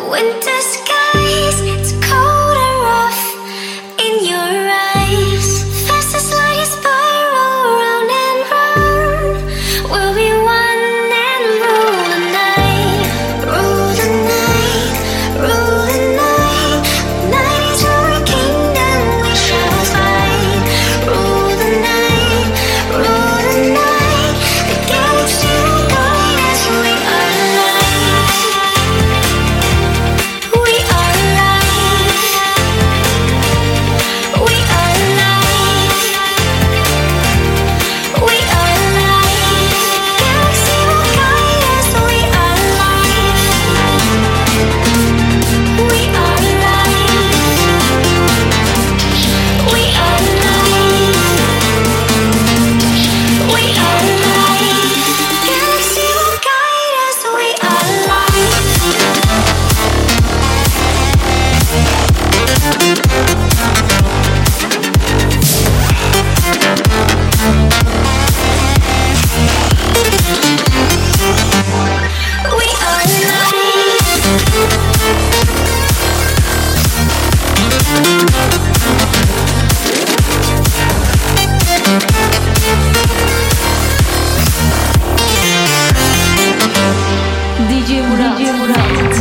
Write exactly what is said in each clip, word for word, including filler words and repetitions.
Winter skies, it's cold and rough in your eyes. Fast as light, you spiral round and round. We'll be one and rule the night, rule the night, rule the night. Night is our kingdom, we shall fight. Rule the night, rule the night. The galaxy will guide us, we are alive. We are alive. We are alive. We are alive. Galaxy will guide us, we are alive. We are alive. We are alive. We are alive. Galaxy will guide us, we are alive. We are D J Murat. D J Murat.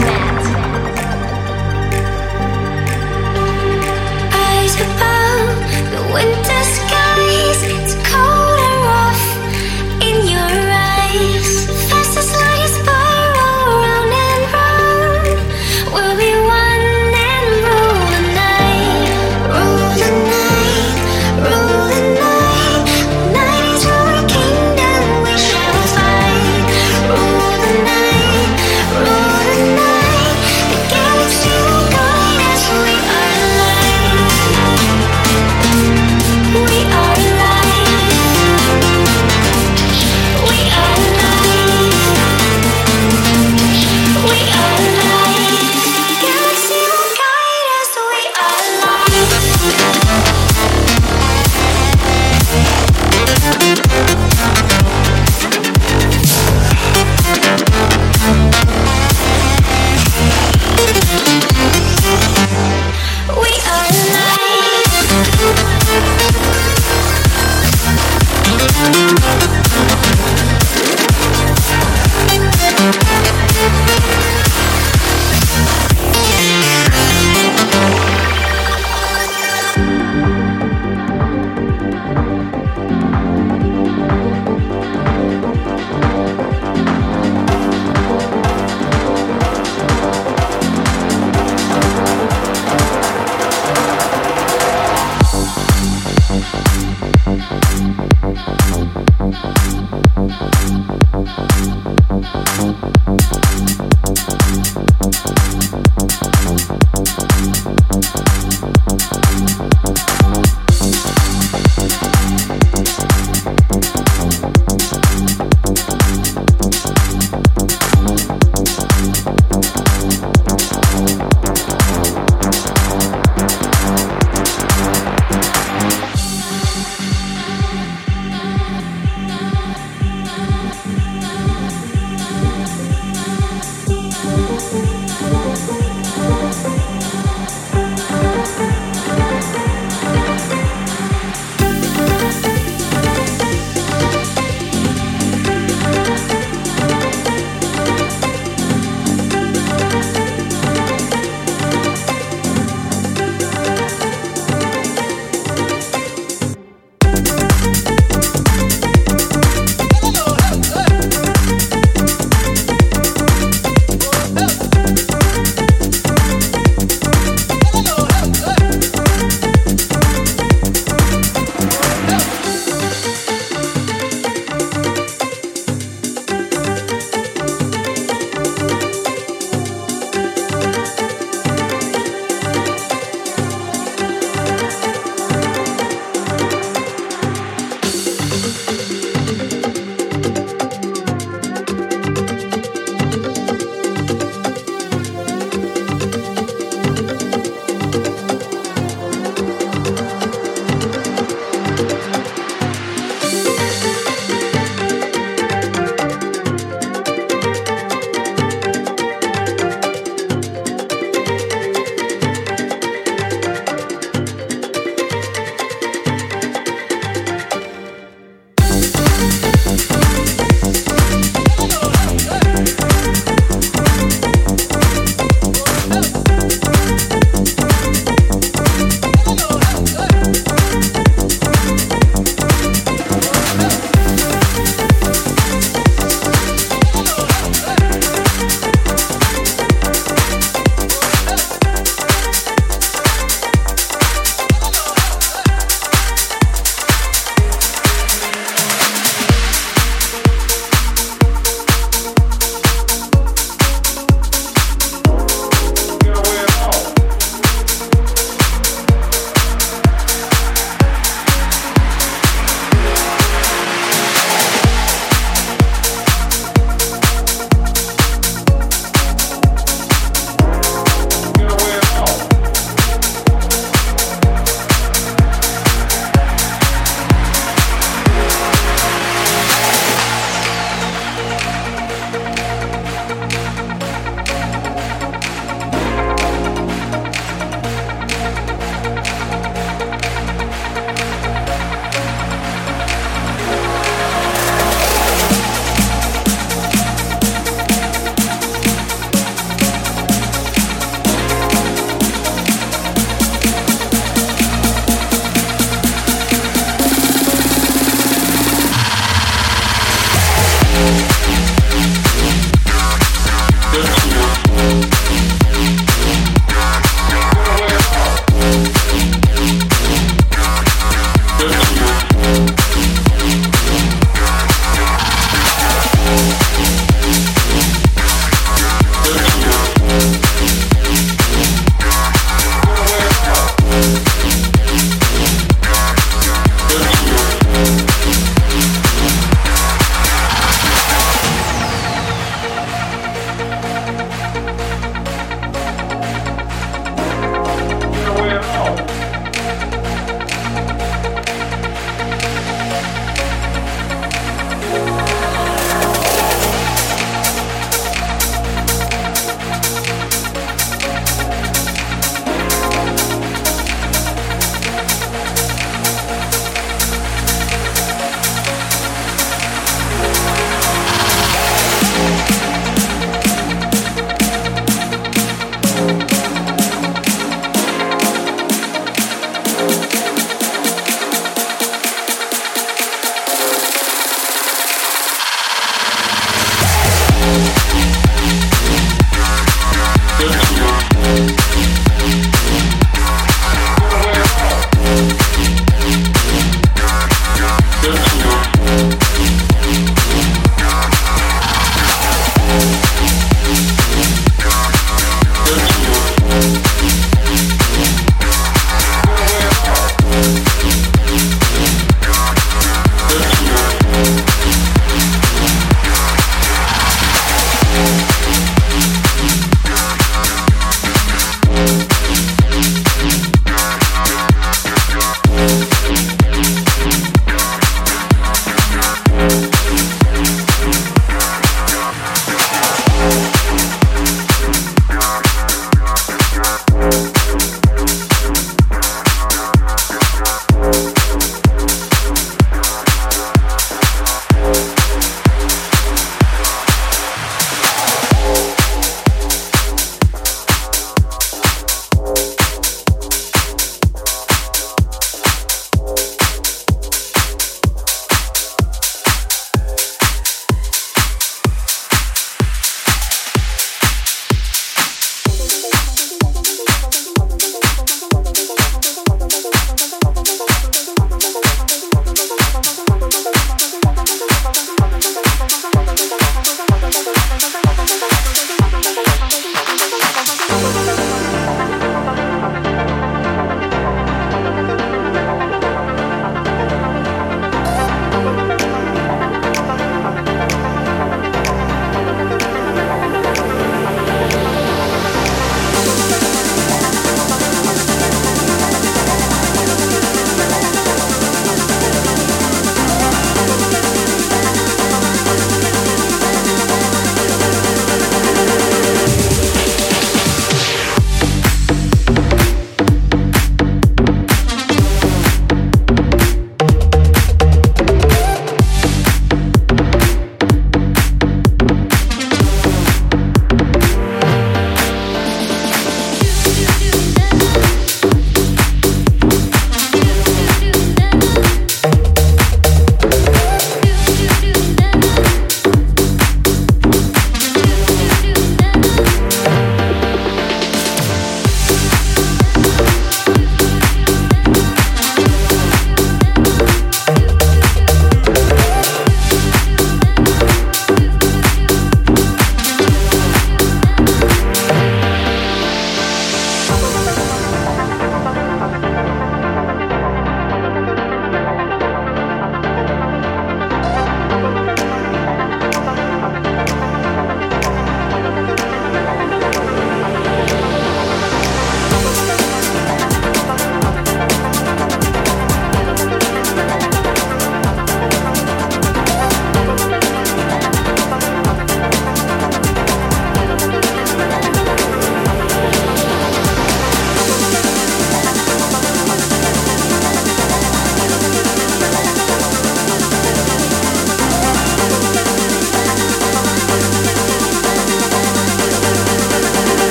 eyes above the winter skies. It's cold and rough in your eyes. Fast as light, you spiral round and round. We'll be one and rule the night, rule the night, rule the night. Night is our kingdom, we shall fight. Rule the night, rule the night. The galaxy will guide us, we are alive. We are alive. We are alive. We are alive. Galaxy will guide us, we are alive. We are alive.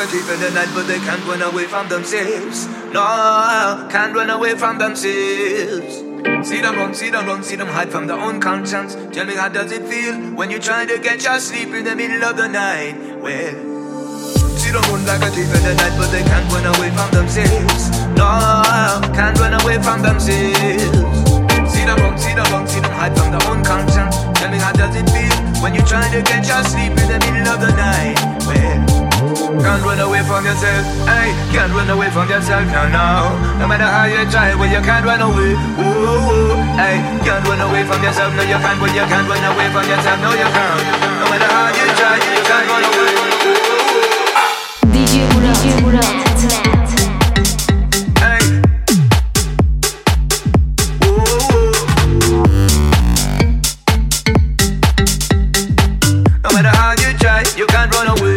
a thief in the night, but they can't run away from themselves. No, can't run away from themselves. See them run, see them run, see them hide from their own conscience. Tell me, how does it feel when you're trying to get your sleep in the middle of the night? Well, see them run like a thief in the night, but they can't run away from themselves. No, can't run away from themselves. See them run, see them run, see them hide from their own conscience. Tell me, how does it feel when you're trying to get your sleep in the middle of the night? Well, can't run away from yourself, hey, can't run away from yourself, no, no. No matter how you try, well, you can't run away, ooh, ooh, hey, can't run away from yourself, no, you can't, well, you can't run away from yourself, no, you can't. No matter how you try, you can't run away, ooh, ooh. D J Murat, D J Murat. You can't run away.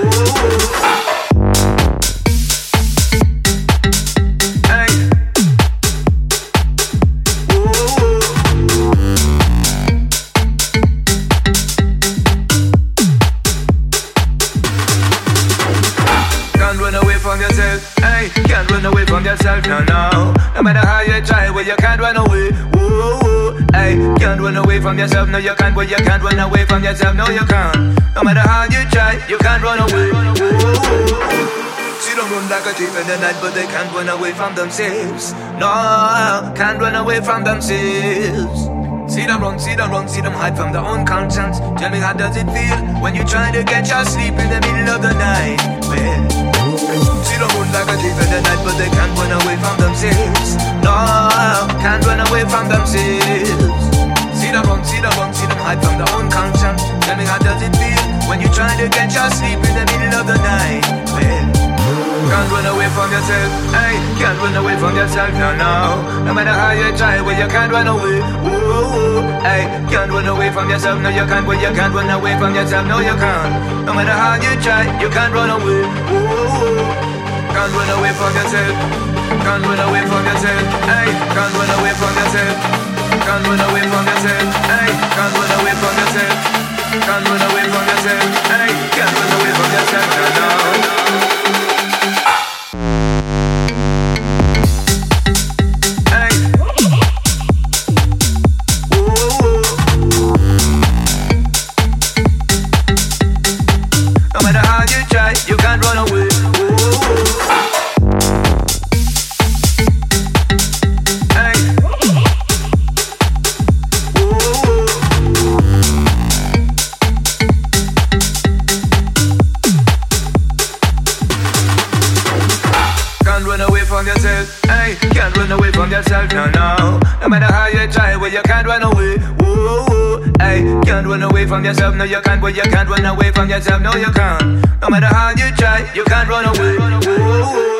Hey. Can't run away from yourself. Hey, can't run away from yourself. No, no. No matter how you try, well, you can't run away. Ooh, hey, can't run away from yourself. No, you can't. Well, you can't run away from yourself. No, you can't. No matter how you try, you can't run away. Ooh. See them run like a thief in the night, but they can't run away from themselves. No, can't run away from themselves. See them run, see them run, see them hide from their own conscience. Tell me, how does it feel when you're trying to get your sleep in the middle of the night? Well, see them run like a thief in the night, but they can't run away from themselves. No, can't run away from themselves. See them run, see them run, see them hide from their own conscience. Tell me, how does it feel when you're trying to get your sleep in the middle of the night? Well, can't run away from yourself, hey, can't run away from yourself, no, no. No matter how you try, well, you can't run away, ooh, hey, can't run away from yourself, no, you can't, well, you can't run away from yourself, no, you can't. No matter how you try, you can't run away, ooh, can't run away from yourself, can't run away from yourself, hey, can't run away from yourself. Can't run away from yourself, hey, can't run away from yourself. Can't run away from yourself, hey, can't run away from yourself, no, no. Hey. Ooh. No matter how you try, you can't run away. Yourself, no, no. No matter how you try, well, you can't run away. Ooh, hey, can't run away from yourself. No, you can't. Well, you can't run away from yourself. No, you can't. No matter how you try, you can't run away. Ooh.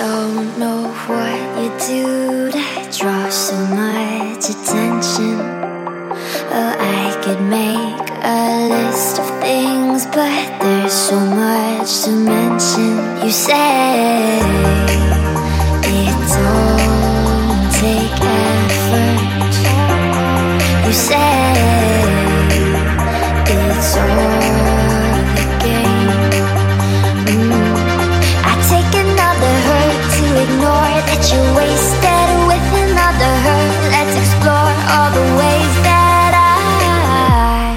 don't know what you do to draw so much attention. Oh, I could make a list of things, but there's so much to mention. You say it don't take effort. You say it's all a game. Mm. I take another hurt to ignore that you're wasted with another hurt. Let's explore all the ways that I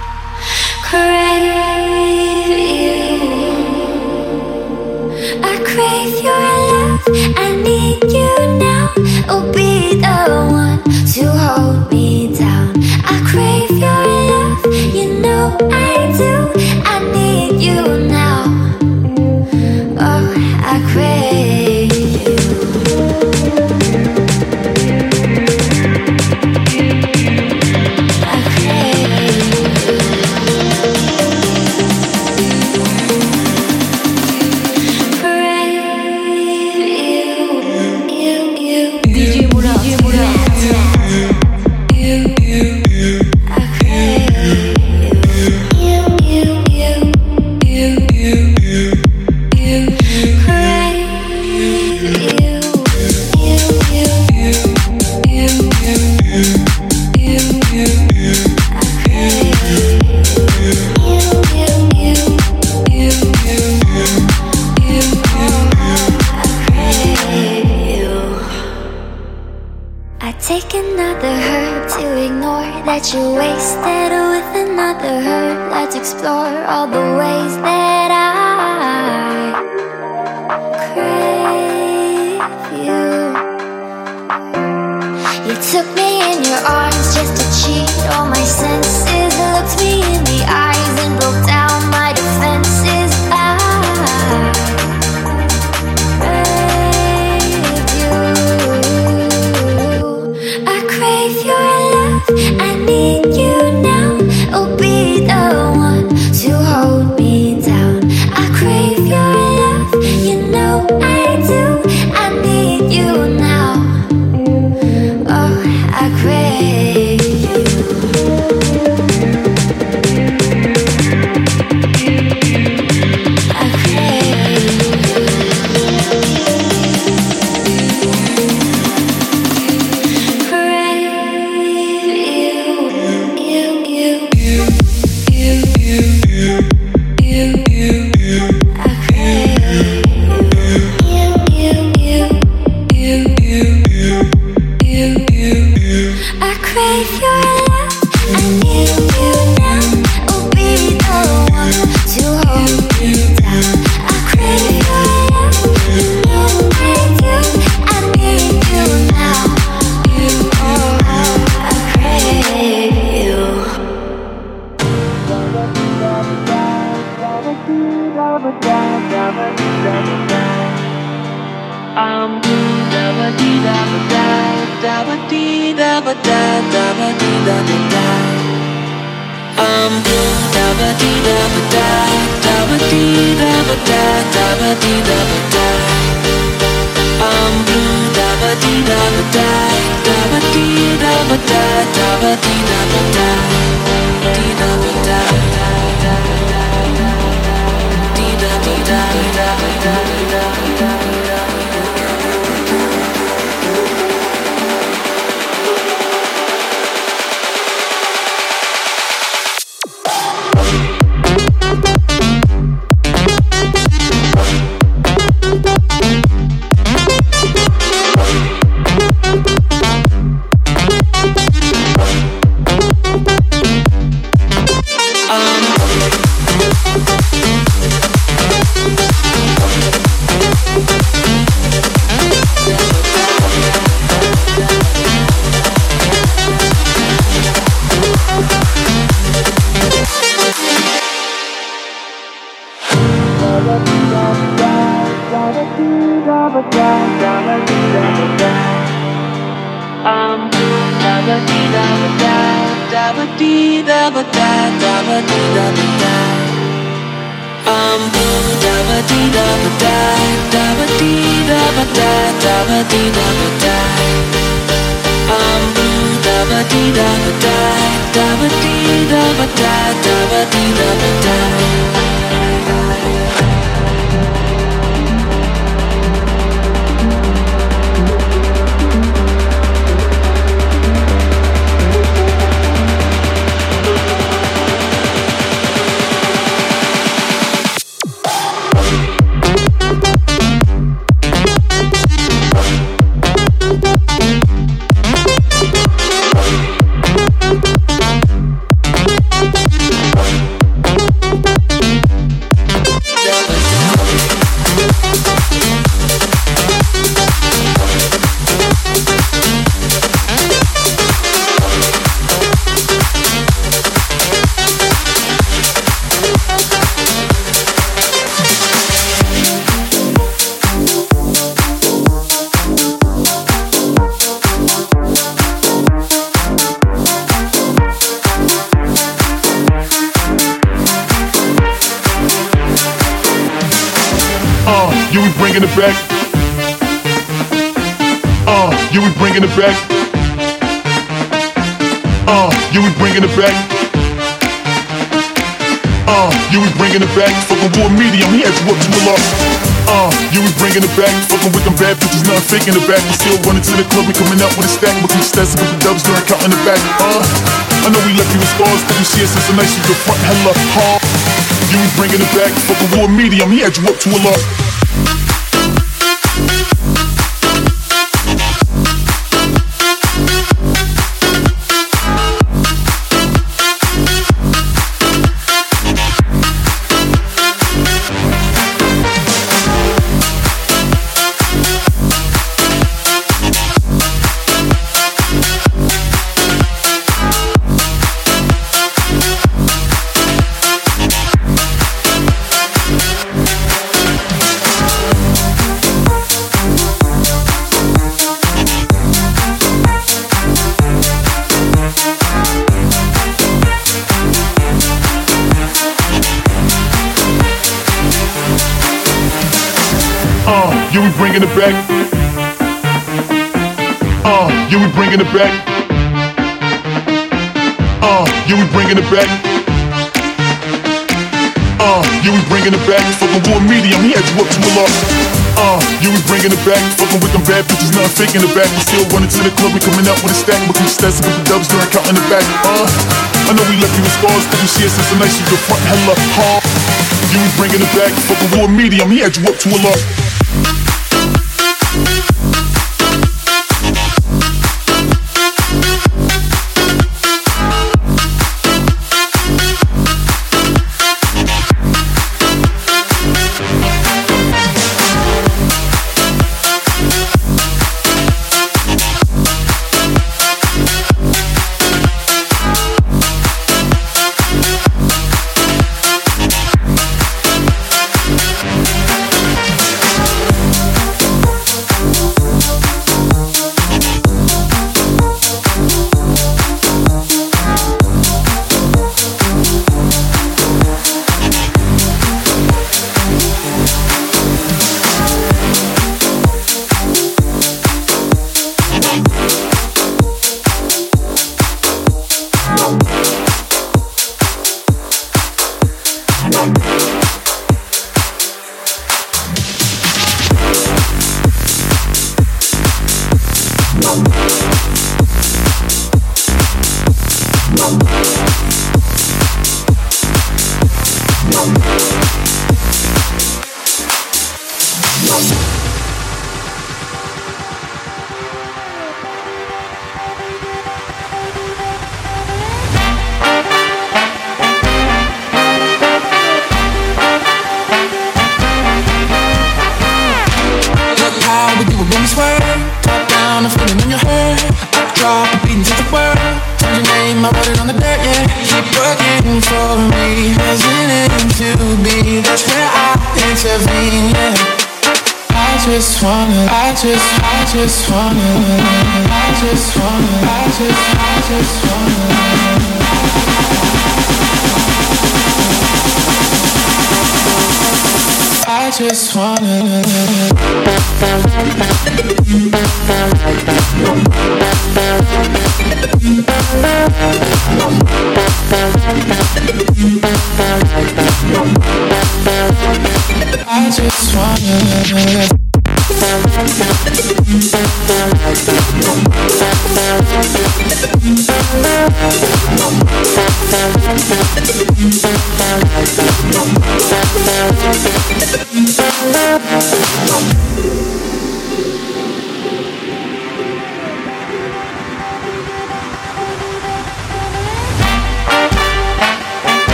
crave you. I crave your love, I need you now. Oh, be the one to hold me down. I crave your love, you know I do. I need you now. Oh, I crave you. I crave you. Crave you. You, you. D J Murat. D J Murat. You, you, you. I crave you. You, you, you. You, you, you. You crave you. You, you, you. You, you, you. You, you, I crave you. You, you, you. You, you, you. I crave you. I take another hurt to ignore that you're wasted with another hurt. Let's explore all the ways that I crave you. You took me in your arms just to cheat all my senses. Looked me in the eyes and broke down my defenses. I crave you. I crave your love, I need you now. Oh, be the one to hold me down. I crave your love, you know I do. I need you now. Oh, I crave you. I crave you. Crave you. You, you, you. You, you, you. You, you, you. I crave you. You, you, you. You, you, you. You, you, you. I crave your love, I need you now. Oh, be the one to hold me down. I crave your love, you know I do. I need you now. You, oh, I crave you. I'm blue, da ba dee da ba da, da ba dee da ba da, da ba dee da ba da. I'm blue, da ba dee da ba da, da ba dee da ba da, da ba dee da ba da. I'm blue, da ba dee da ba da, da ba dee da ba da, da ba dee da ba da, dee da ba da, dee da dee da da da da da. I'm da ba dee da ba da, da ba dee da ba da, da ba dee da ba da. I'm blue, da ba dee da ba da, da ba dee da da ba dee da ba da. I'm blue, da ba dee da ba da, da ba dee da ba da, da ba dee da ba da. Bringing it back. Uh, you we bringing it back. Uh, you we bringing it back. Uh, you we bringing it back. Fucking with a medium, he had you up to a lot. Uh, you we bringing it back. Fucking with them bad bitches, nothing fake in the back. We still running to the club, we coming out with a stack. But we stats a couple dubs during counting the back. Uh, I know we left you with scars, but we see it since the night you the front hella hard. You we bringing it back. Fucking with a medium, he had you up to a lot. You we bringing it back. Uh, you we bringing it back. Uh, you we bringing it back. Uh, you we bringing it back. Fucking with a medium, he had you up to a lot. Uh, you we bringing it back. Fucking with them bad bitches, nothing fake in the back. We still running to the club, we coming out with a stack. But we stats a couple dubs during counting the back. Uh, I know we left you with scars, but we see it since the night you the front hella hard. You we bringing it back. Fucking with a medium, he had you up to a lot. just wanna, I just, I just wanna, I just wanna, I just, I just wanna, I just wanna.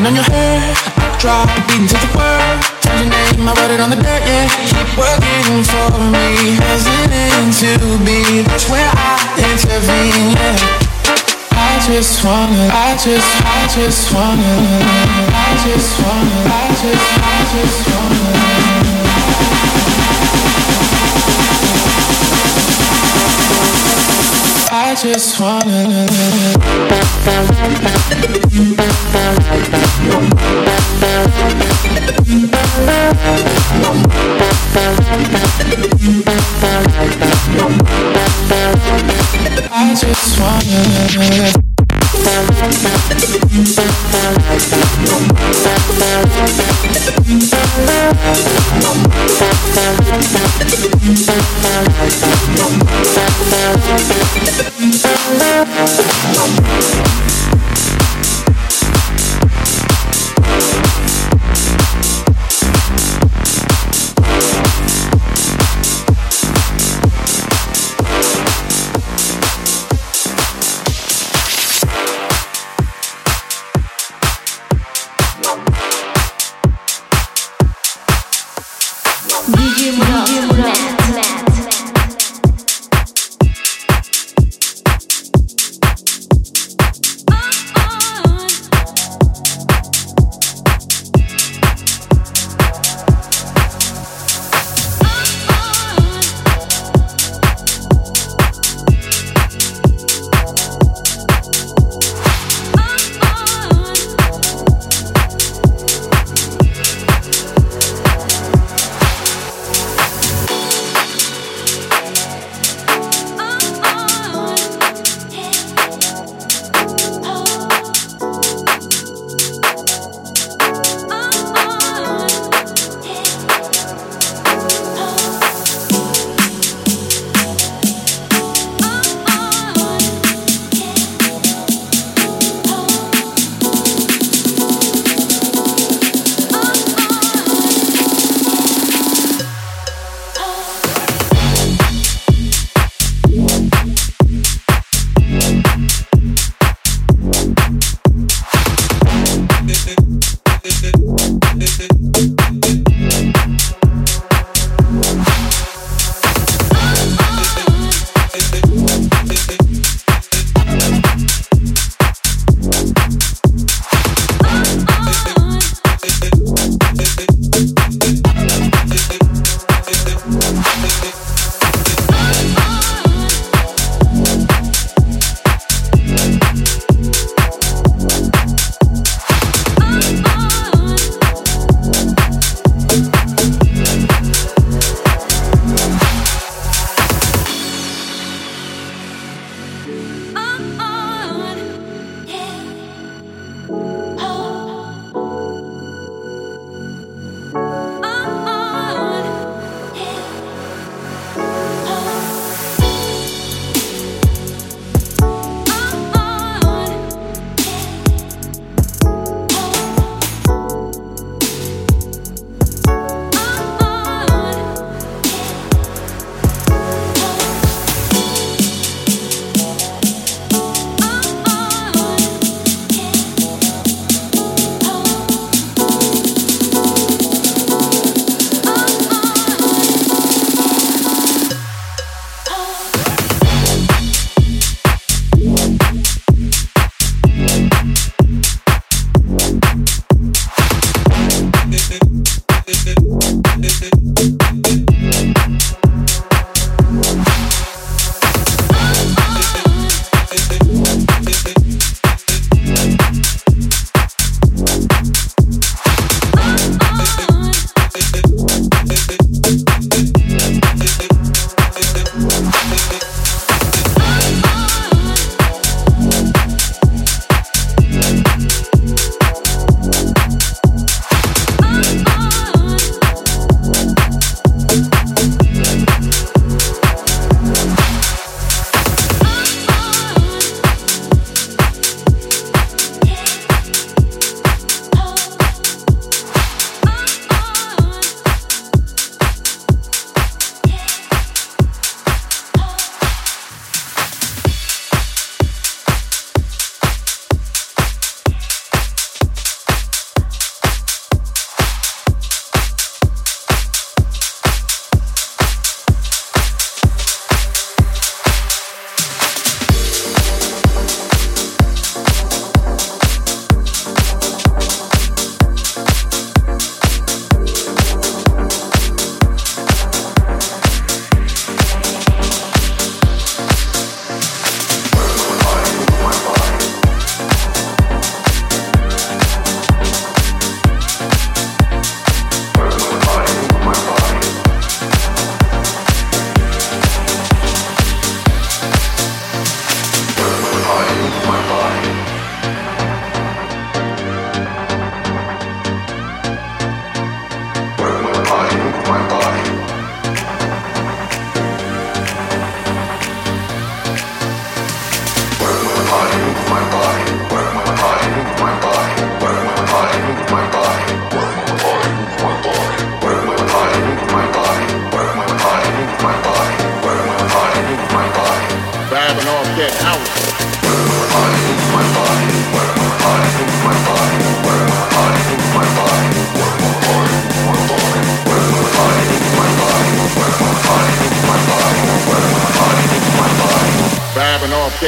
Pulling on your hair, drop, beating to the world. Find your name, I wrote it on the dirt, yeah. Keep working for me, hesitant to be. That's where I intervene, yeah. I just wanna, I just, I just wanna, I just wanna, I just, I just wanna. I just wanna. I just wanna. D J Murat.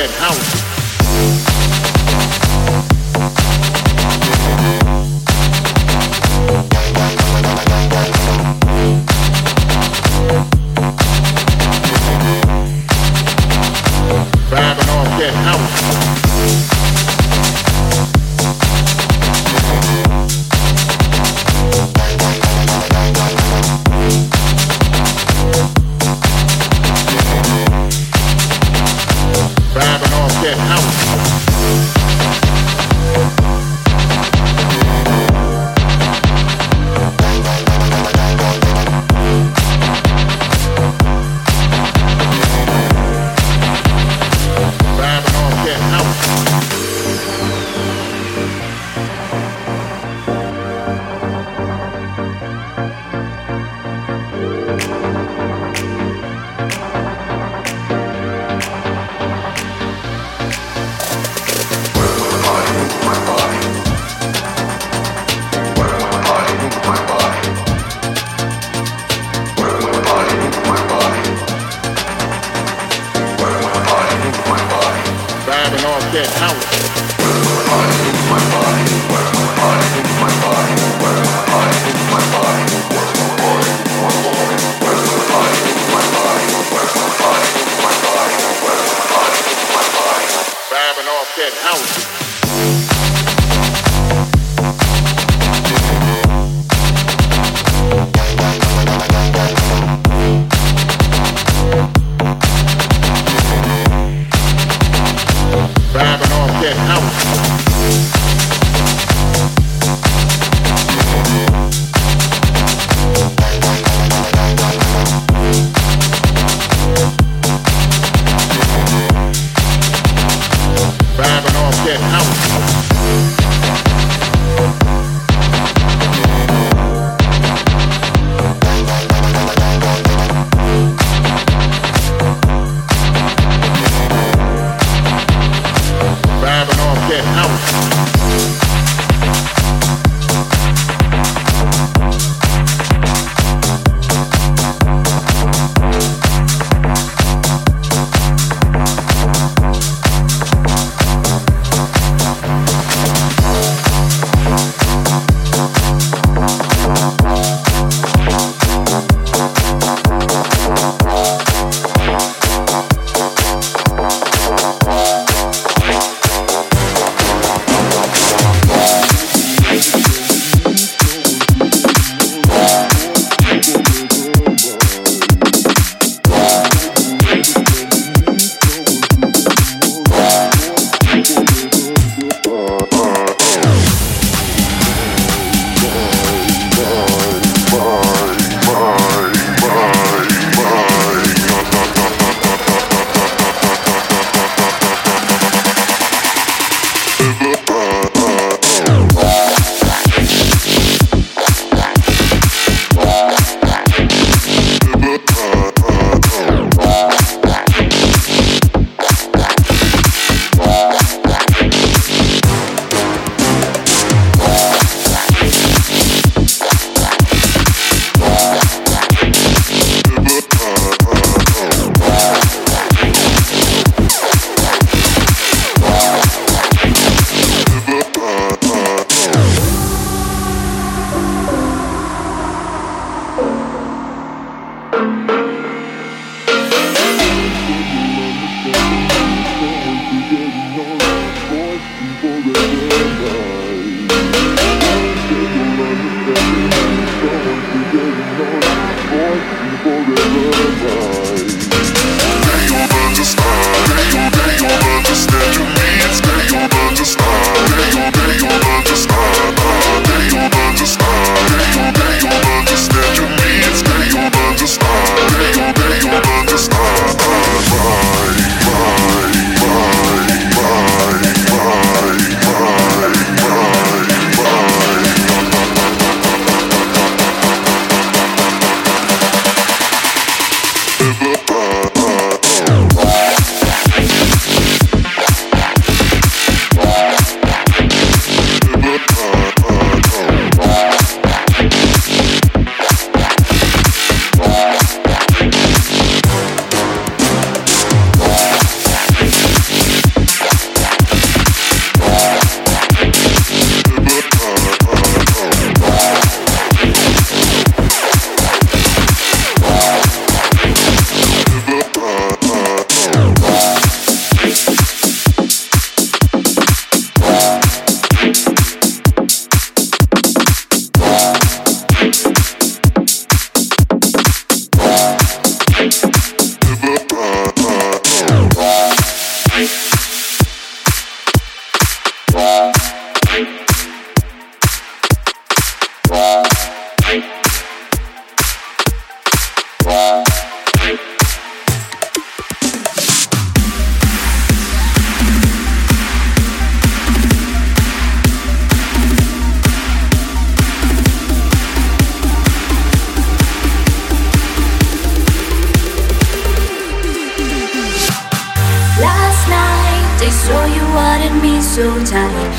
that house. Vibing off that house. Vibing off that house.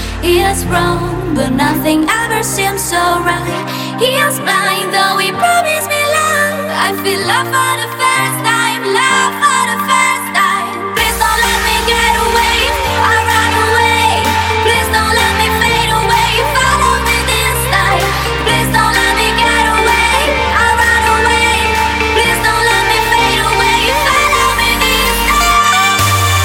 He is wrong, but nothing ever seems so right. He is blind, though he promised me love. I feel love for the first time, love for the first time. Please don't let me get away, I run away. Please don't let me fade away, follow me this time. Please don't let me get away, I run away. Please don't let me fade away, follow me this time.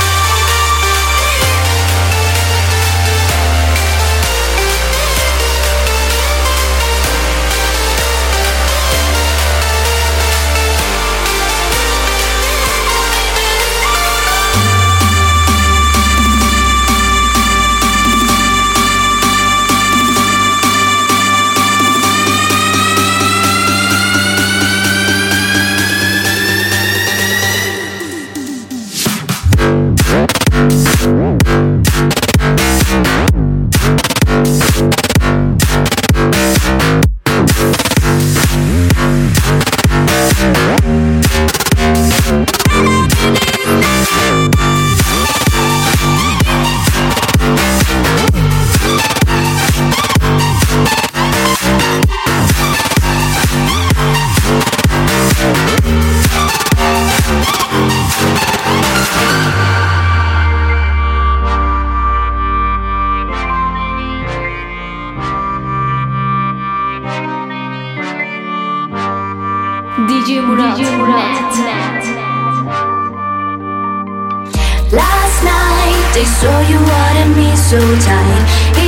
D J Murat, D J Murat. Last night they saw you wanted me so tight.